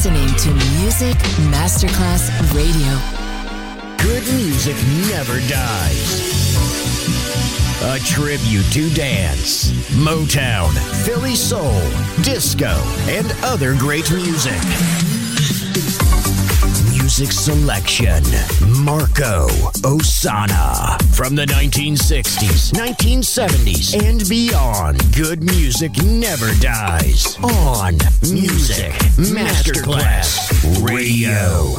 listening to Music Masterclass Radio. Good music never dies. A tribute to dance, Motown, Philly soul, disco, and other great music. Music selection, Marco Ossanna. From the 1960s, 1970s, and beyond, good music never dies. On Music Masterclass Radio.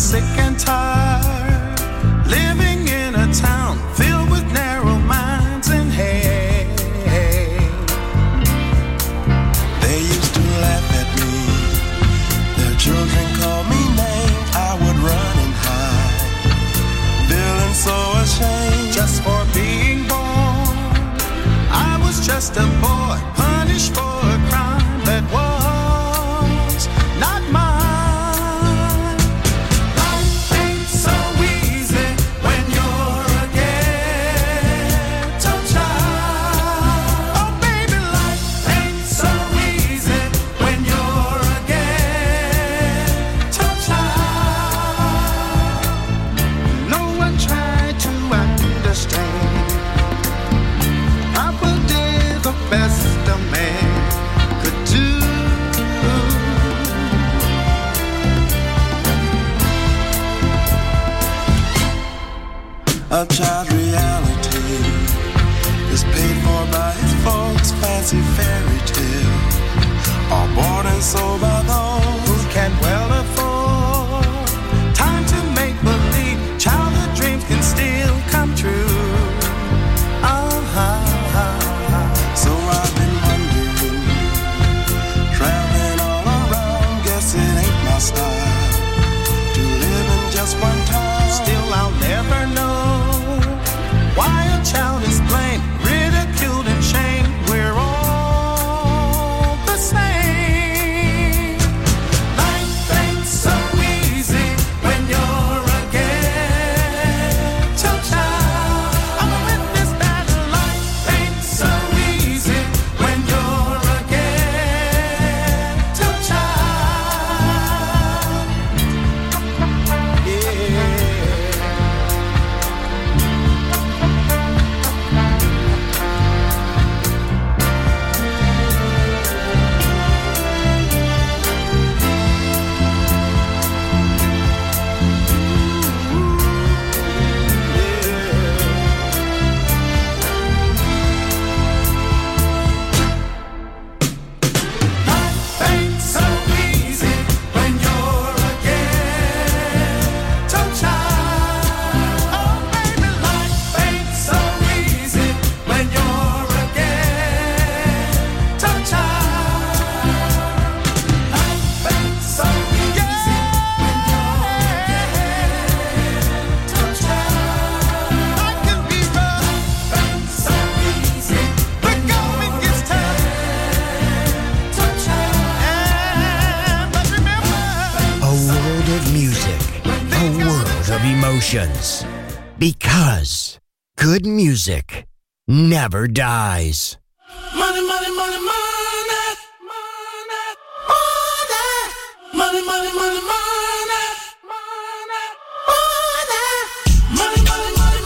sick and tired, living in a town filled with narrow minds and hate. They used to laugh at me, their children called me names. I would run and hide, feeling so ashamed just for being born. I was just a boy, punished for a crime that was not mine. Life ain't so easy when you're a ghetto child. Oh baby, life ain't so easy when you're a ghetto child. No one tried to understand. I did the best a man could do. A child's reality is paid for by his folks' fancy fairy tale, all bought and sold by those who can well afford. Time to make believe, childhood dreams can still come true. So I've been wondering, traveling all around, guess it ain't my style to live in just one time. Still I'll never know why a child is blamed, ridiculed and shamed. We're all the same. Life ain't so easy when you're a ghetto child. I'm a witness that life ain't so easy when you're a ghetto child. Yeah. Life ain't so easy when you're a ghetto child. Oh baby, life ain't so easy when you're a ghetto child. Life ain't so easy when you're a ghetto child. Life can be rough. Life ain't so easy when going gets tough. But remember, A world of music, a world of emotions. Because good music never dies. money, money, money, money, money, money, money, money, money, money, money, money, money,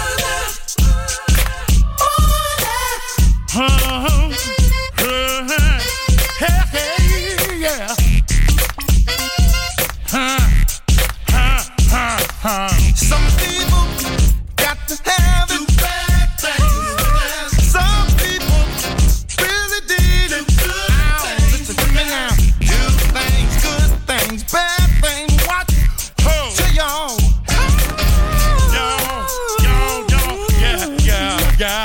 Some people got to have it. Some people really did it. Listen to me now. Good things, good things, bad things. Watch to y'all. Yeah.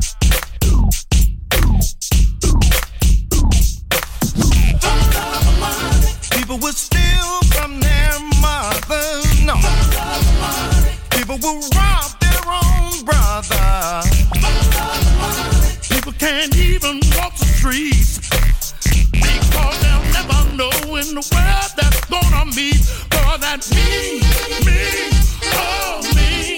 People will steal from their mothers. No. People will rob their own brother. People can't even walk the streets because they'll never know in the world that's gonna meet for that me, oh me,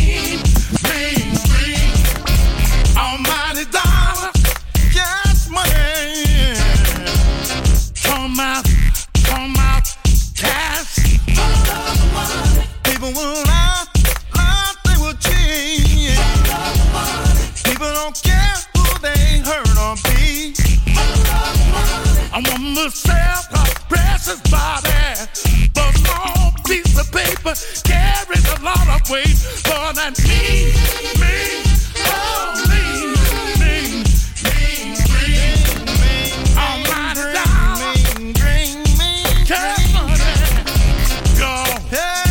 almighty dollar, yes money, come out, cash. People will lie, they will cheat. People don't care who they hurt or be. I want myself a precious body, but small piece of paper carries a lot of weight for that me, oh me, almighty dollar, cash money, go. Hey.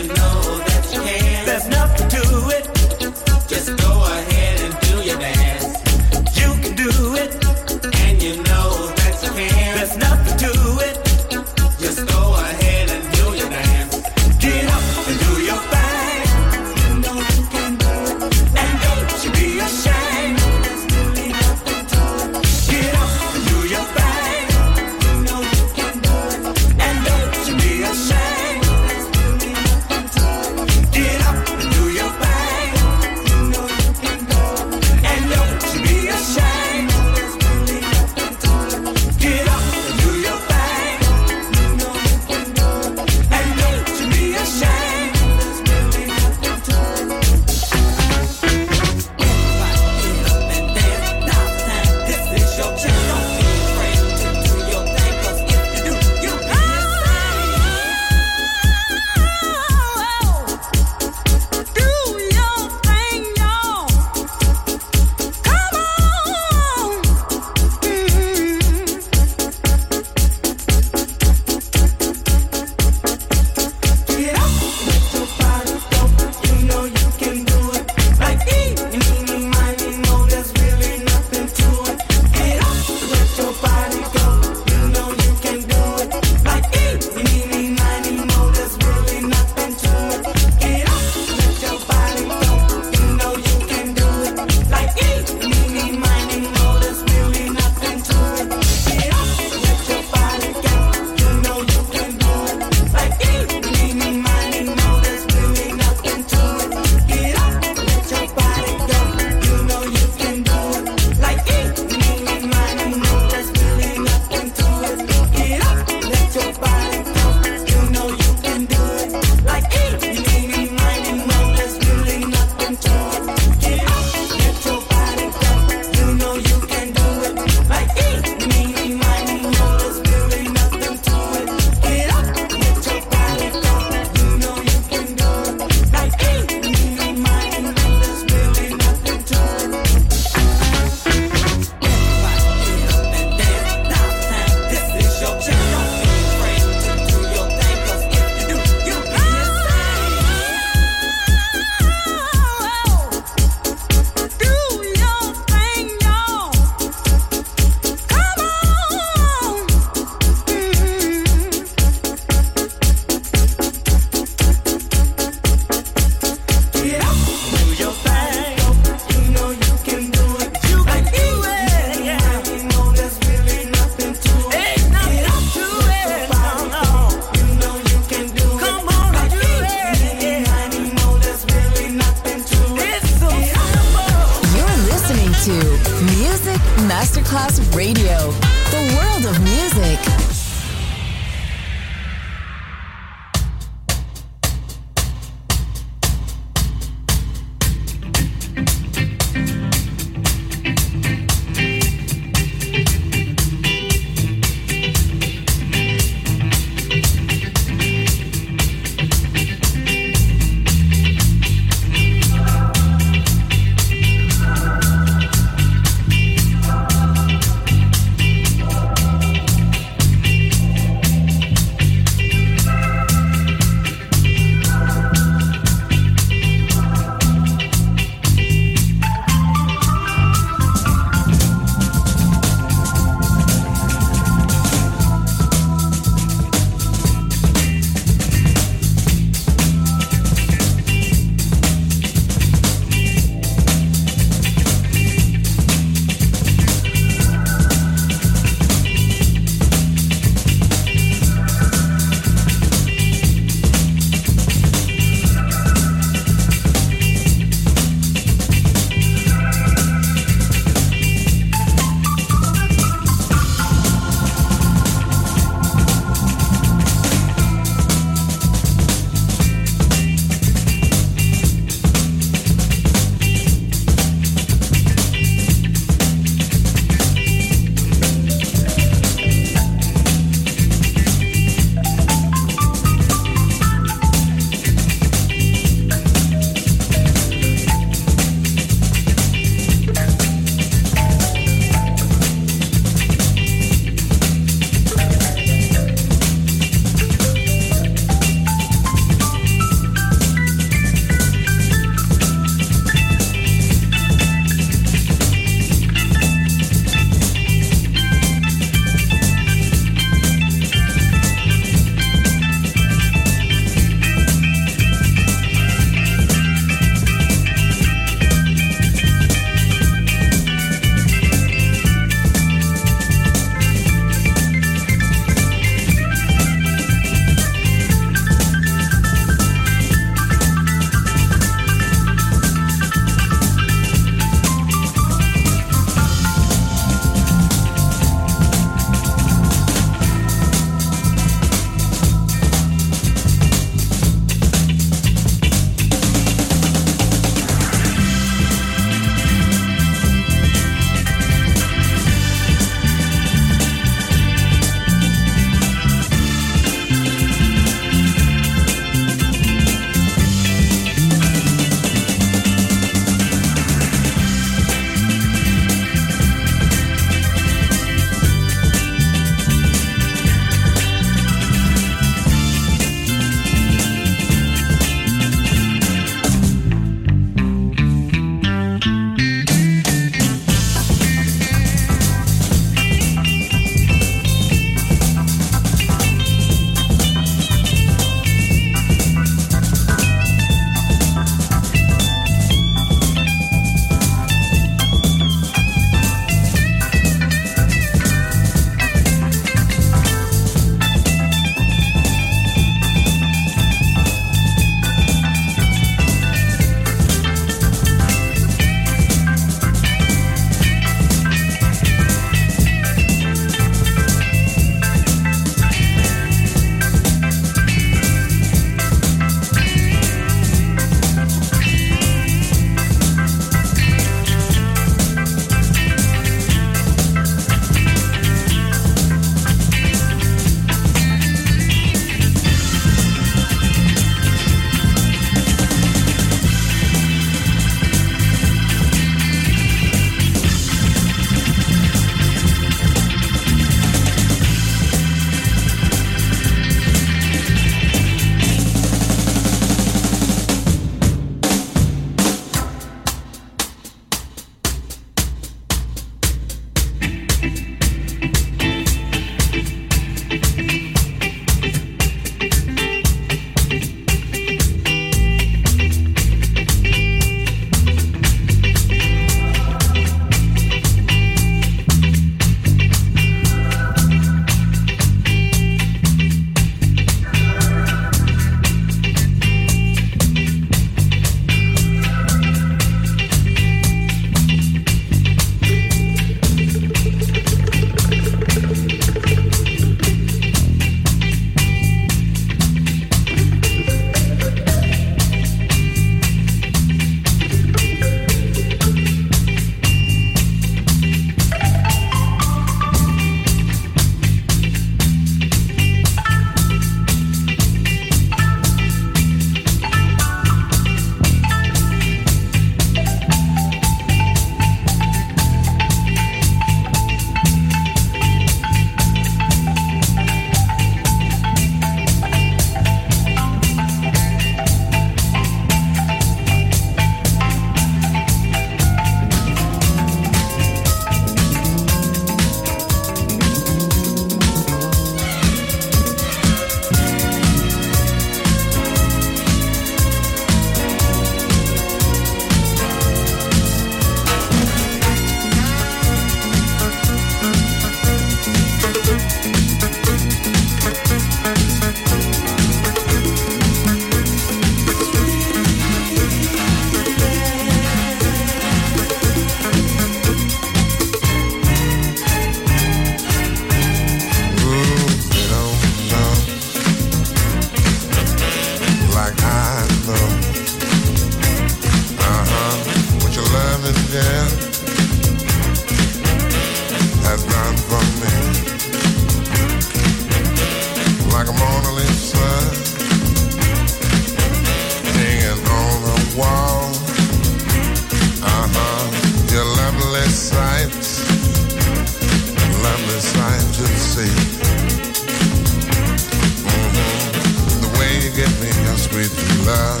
how sweet is love.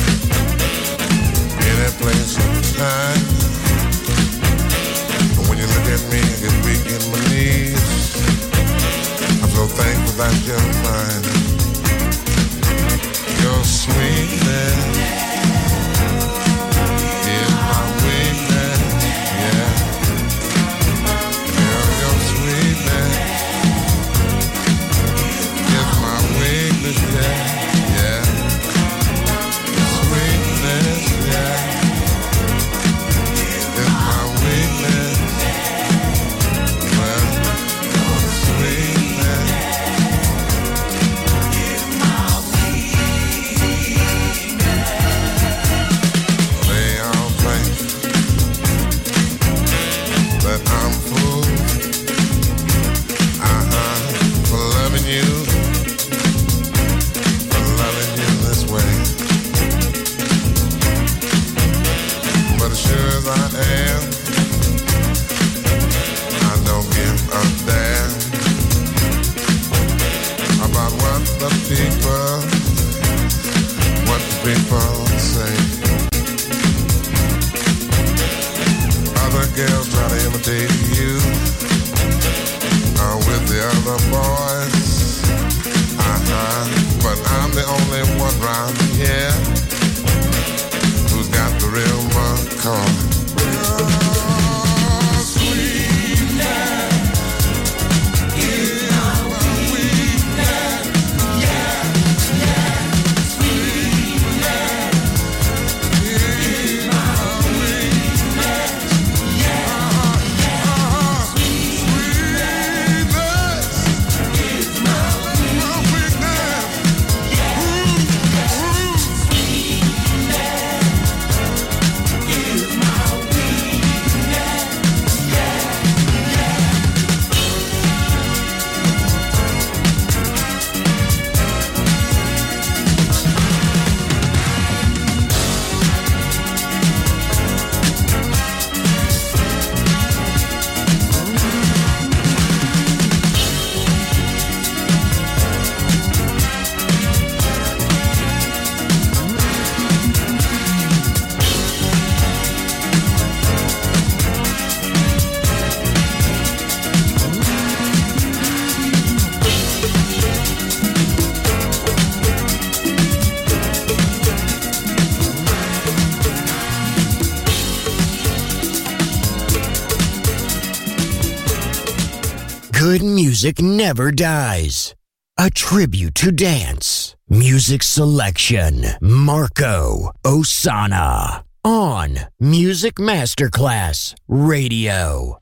Any place, anytime. But when you look at me, I get weak in my knees. I'm so thankful that you're mine. Your sweetness is my weakness, yeah. Your sweetness is my weakness, yeah, yeah. Sweetness, yeah, is my weakness. Well, sweetness. They all think that I'm fool, for loving you this way. But as sure as I am, I don't give a damn about what the people say. Other girls try to imitate you with the other boys, but I'm the only one round here who's got the real McCoy. Good music never dies. A tribute to dance. Music selection. Marco Ossanna. On Music Masterclass Radio.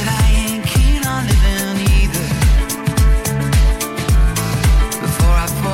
Before I fall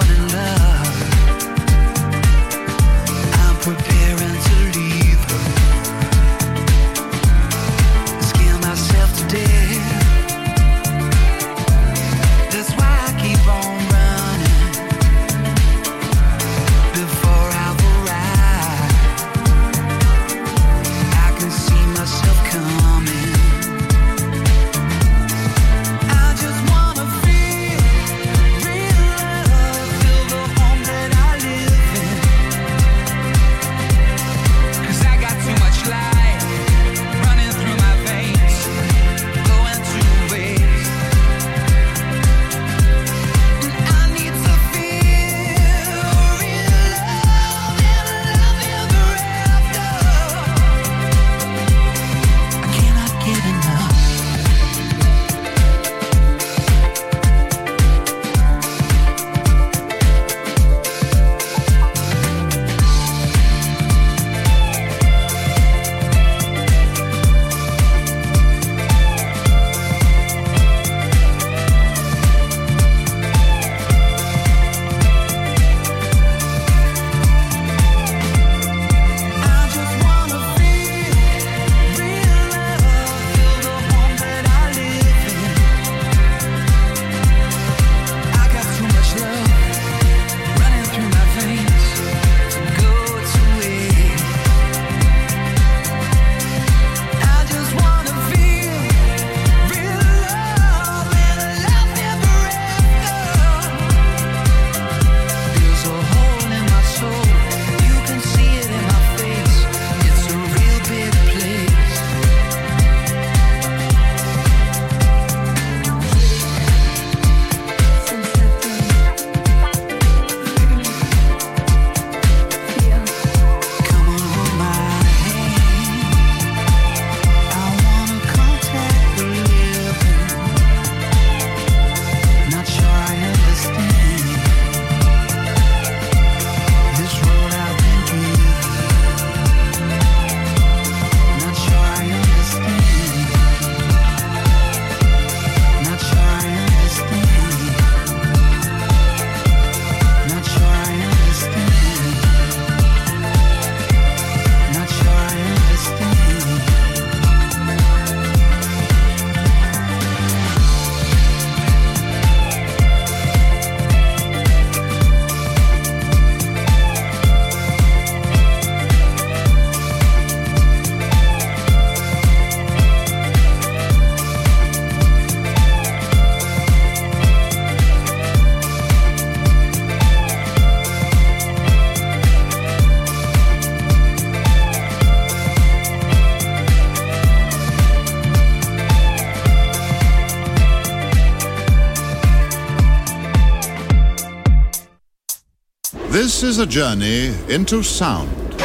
This is a journey into sound.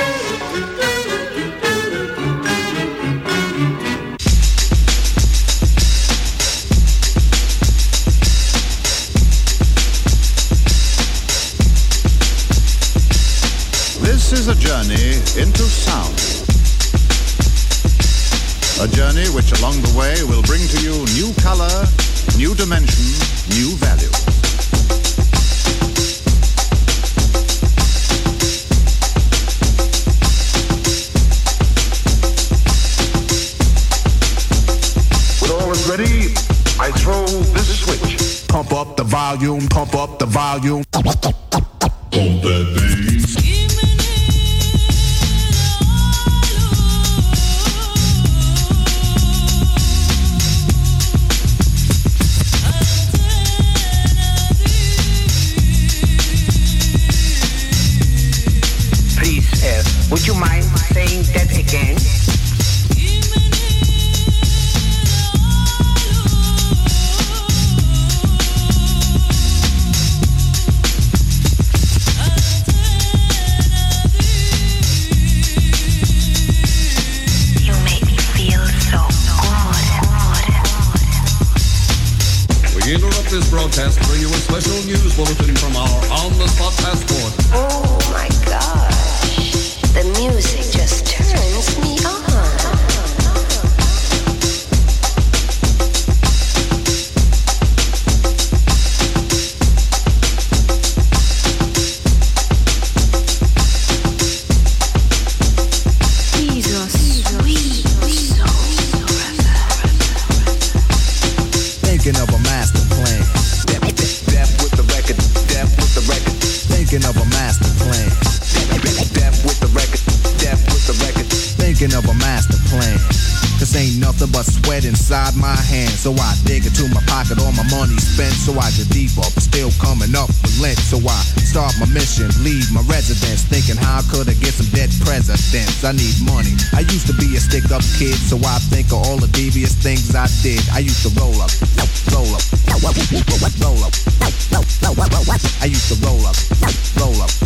This is a journey into sound. A journey which along the way will bring to you new color, new dimension, new value. Ready? I throw this switch. Pump up the volume, pump up the volume. Pump that bass. Please, would you mind saying that again? This broadcast bring you a special news bulletin from our on-the-spot passport. Oh my gosh, the music just turns me on. These are sweet souls forever. Thinking of a master plan. Death with the record. Death with the record. Thinking of a master plan. Death with the record. Death with the record. Thinking of a master plan. Cause ain't nothing but sweat inside my hands. So I dig into my pocket, all my money spent. So I get deeper, but still coming up with lint. So I start my mission, leave my residence, thinking how could I get some dead presidents? I need money. I used to be a stick-up kid, so I think of all the devious things I did. I used to roll up, roll up, roll up, roll up. I used to roll up, roll up,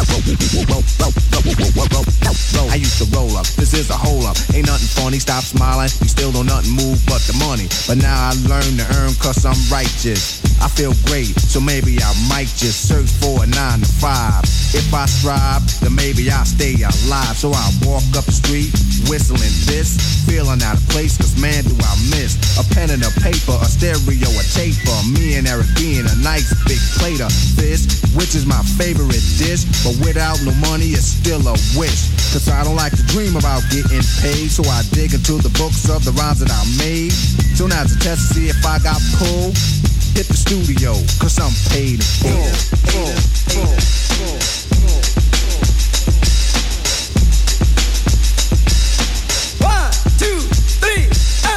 roll. I used to roll up. This is a hole up. Ain't nothing funny. Stop smiling. We still don't nothing move but the money. But now I learn to earn cause I'm righteous. I feel great, so maybe I might just search for a 9 to 5. If I strive, then maybe I'll stay alive. So I walk up the street, whistling this, feeling out of place, cause man do I miss a pen and a paper, a stereo, a taper. Me and Eric being a nice big plate of fish, which is my favorite dish. But without no money, it's still a wish. Cause I don't like to dream about getting paid, so I dig into the books of the rhymes that I made. So now's a test to see if I got pulled. Hit the studio, cause I'm paid in full. One, two, three,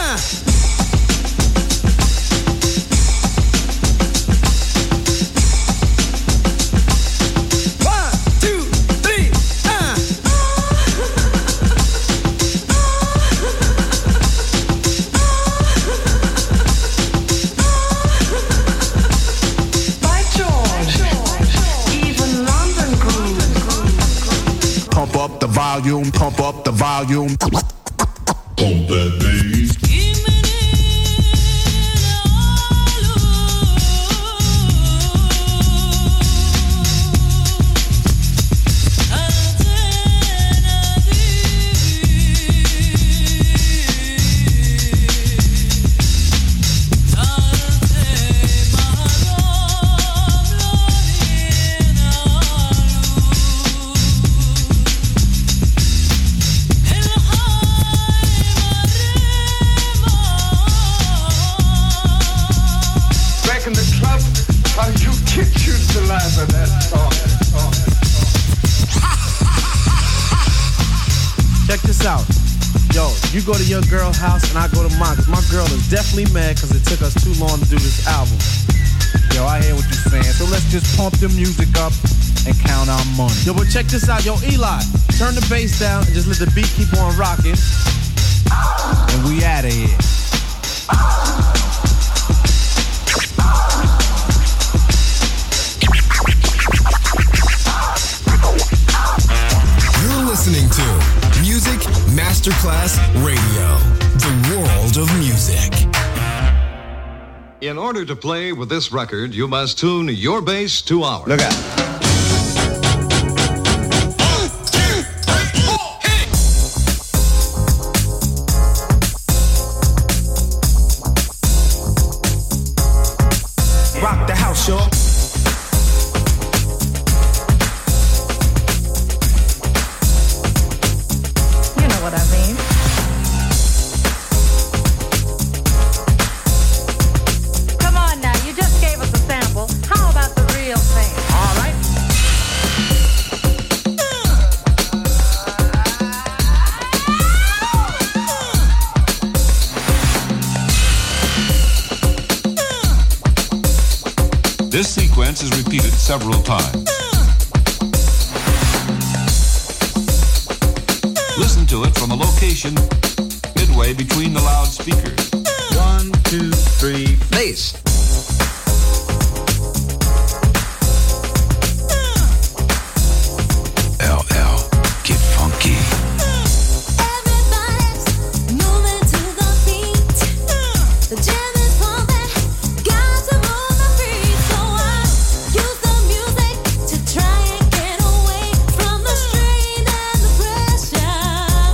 volume, pump up the volume. Pump that bass. Check this out. Yo, you go to your girl's house and I go to mine, cause my girl is definitely mad cause it took us too long to do this album. Yo, I hear what you're saying, so let's just pump the music up and count our money. Yo, but check this out. Yo, Eli, turn the bass down and just let the beat keep on rocking. And we out of here. Masterclass Radio, the world of music. In order to play with this record, you must tune your bass to ours. Look out. Rock the house, y'all. You know what I mean. Come on now, you just gave us a sample. How about the real thing? All right. This sequence is repeated several times. Listen to it from a location midway between the loudspeakers. 1, 2, 3, bass. LL, get funky. Moving to the beat. The jam is pumping. Got to move my feet. So I use the music to try and get away from the strain and the pressure.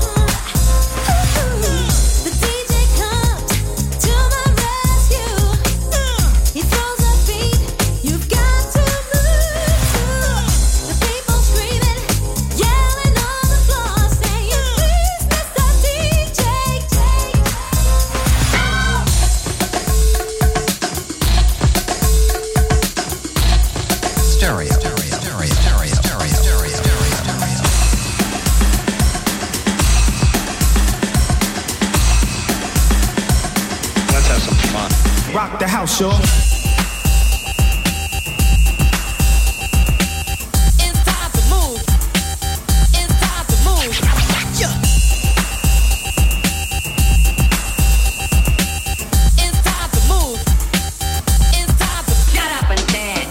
The DJ comes to my rescue. He throws a beat. You've got to move to. The people screaming, yelling on the floor, saying, "Please, Mr. DJ, Stereo. Let's have some fun. Rock the house, y'all. It's time to move. It's time to move. Yeah. It's time to move. It's time to get up and dance.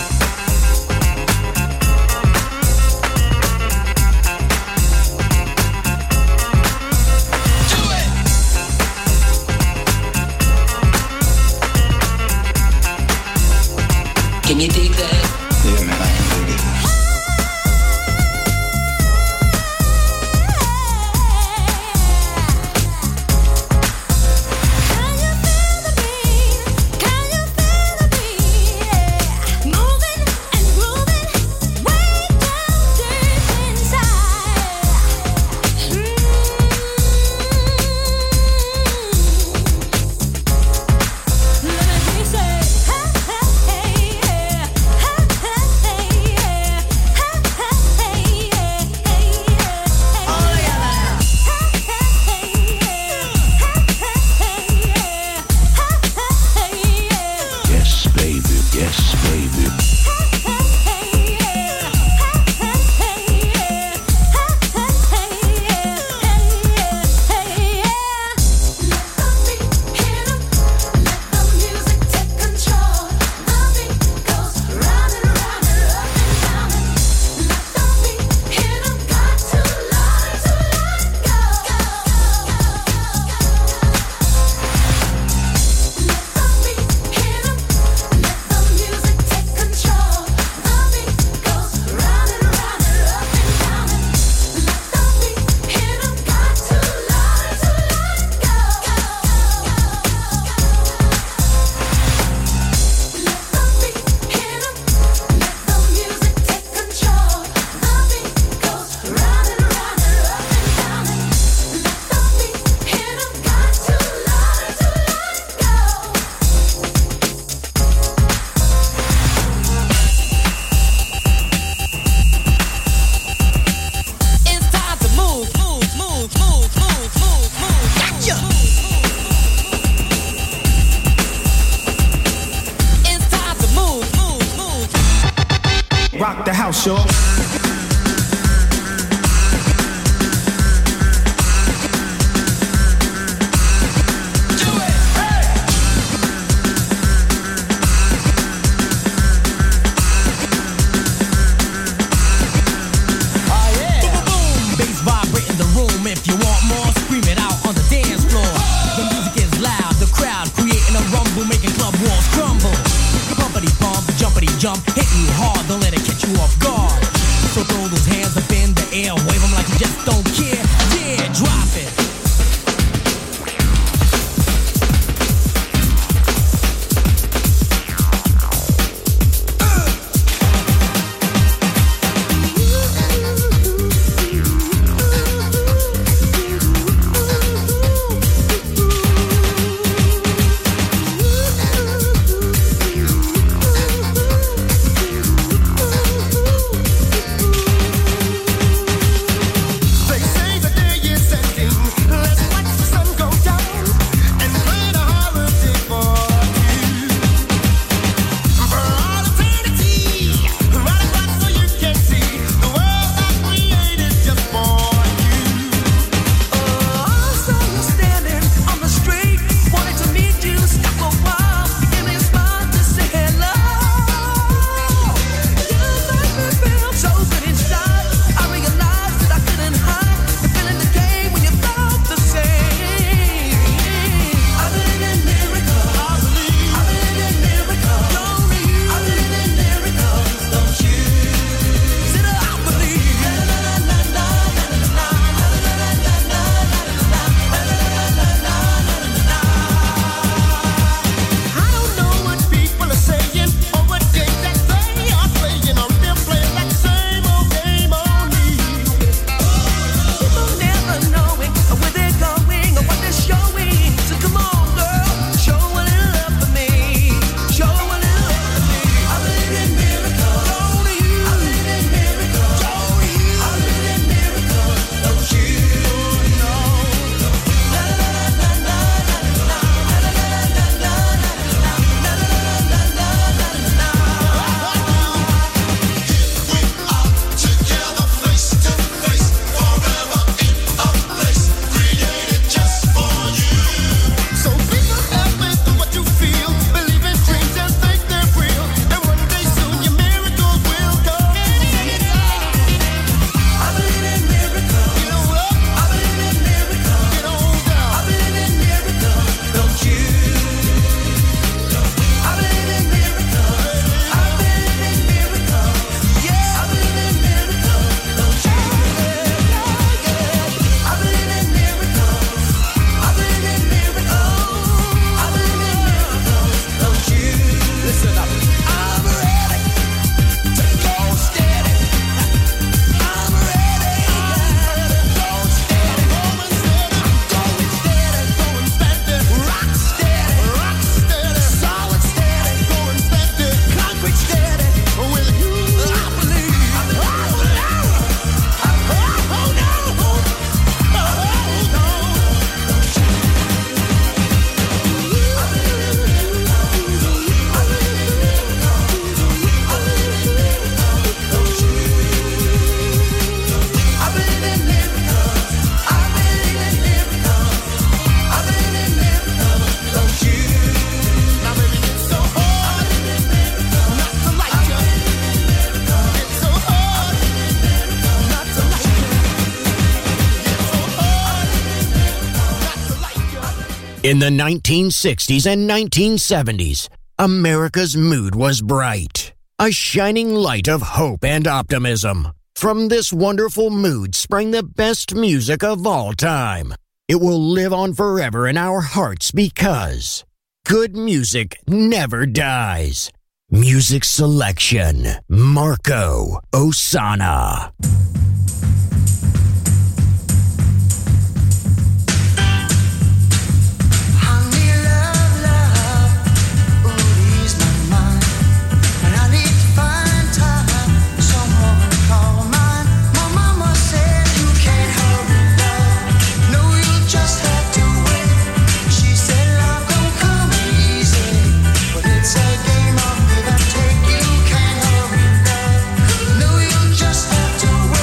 Do it. Can you dig that? Yeah, man, I can dig it. Can you feel the beat? Can you feel the beat? Moving and grooving way down deep inside. Let me hear you say, hey, hey, hey, yeah. Hey, hey, hey, yeah. Hey, hey, hey, yeah. Hey, hey, hey. All together. Hey, hey, hey, yeah. Hey, hey, hey, yeah. Hey, hey, hey, yeah. Yes, baby. Yes, baby. It's time to move, move, move, move, move, move, move. Yeah. It's time to move, move, move. Rock the house, y'all. Bass vibrating the room. If you want more, scream jump, hit you hard, don't let it catch you off guard. So throw those hands up in the air, wave them like you just don't care. Yeah, drop it. In the 1960s and 1970s, America's mood was bright, a shining light of hope and optimism. From this wonderful mood sprang the best music of all time. It will live on forever in our hearts because good music never dies. Music selection, Marco Ossanna. Just have to wait.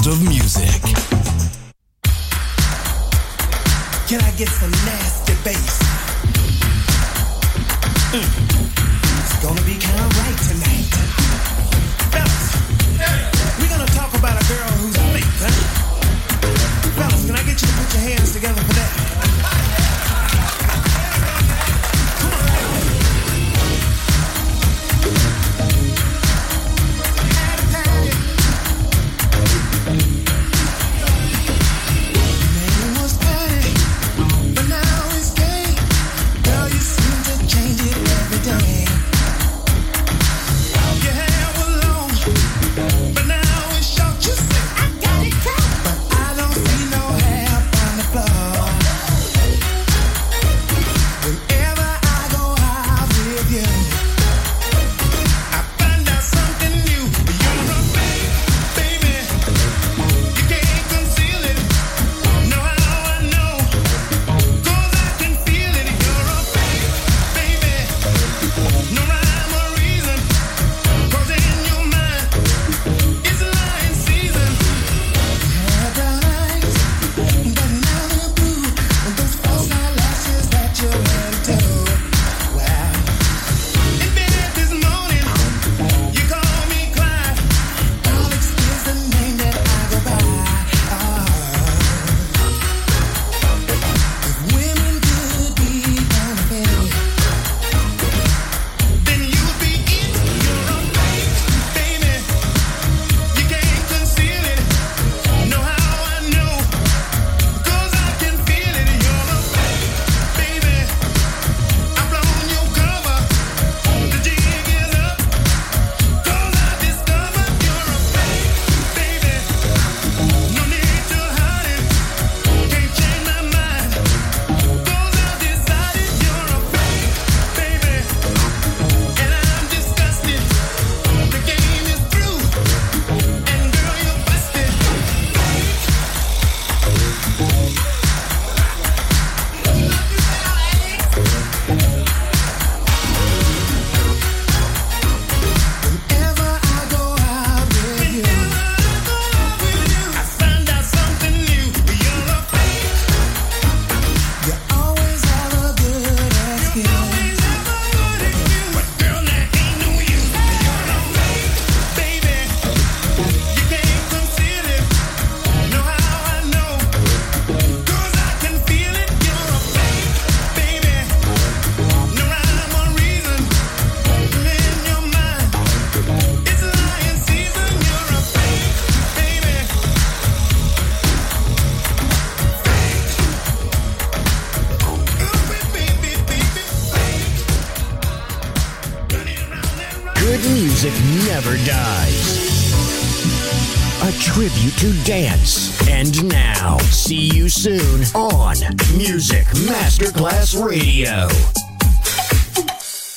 world of music. Can I get some nasty bass? It's gonna be kind of right tonight. Fellas, we're gonna talk about a girl who's fake, huh? Fellas, can I get you to put your hands together for that? Never dies. A tribute to dance. And now, see you soon on Music Masterclass Radio.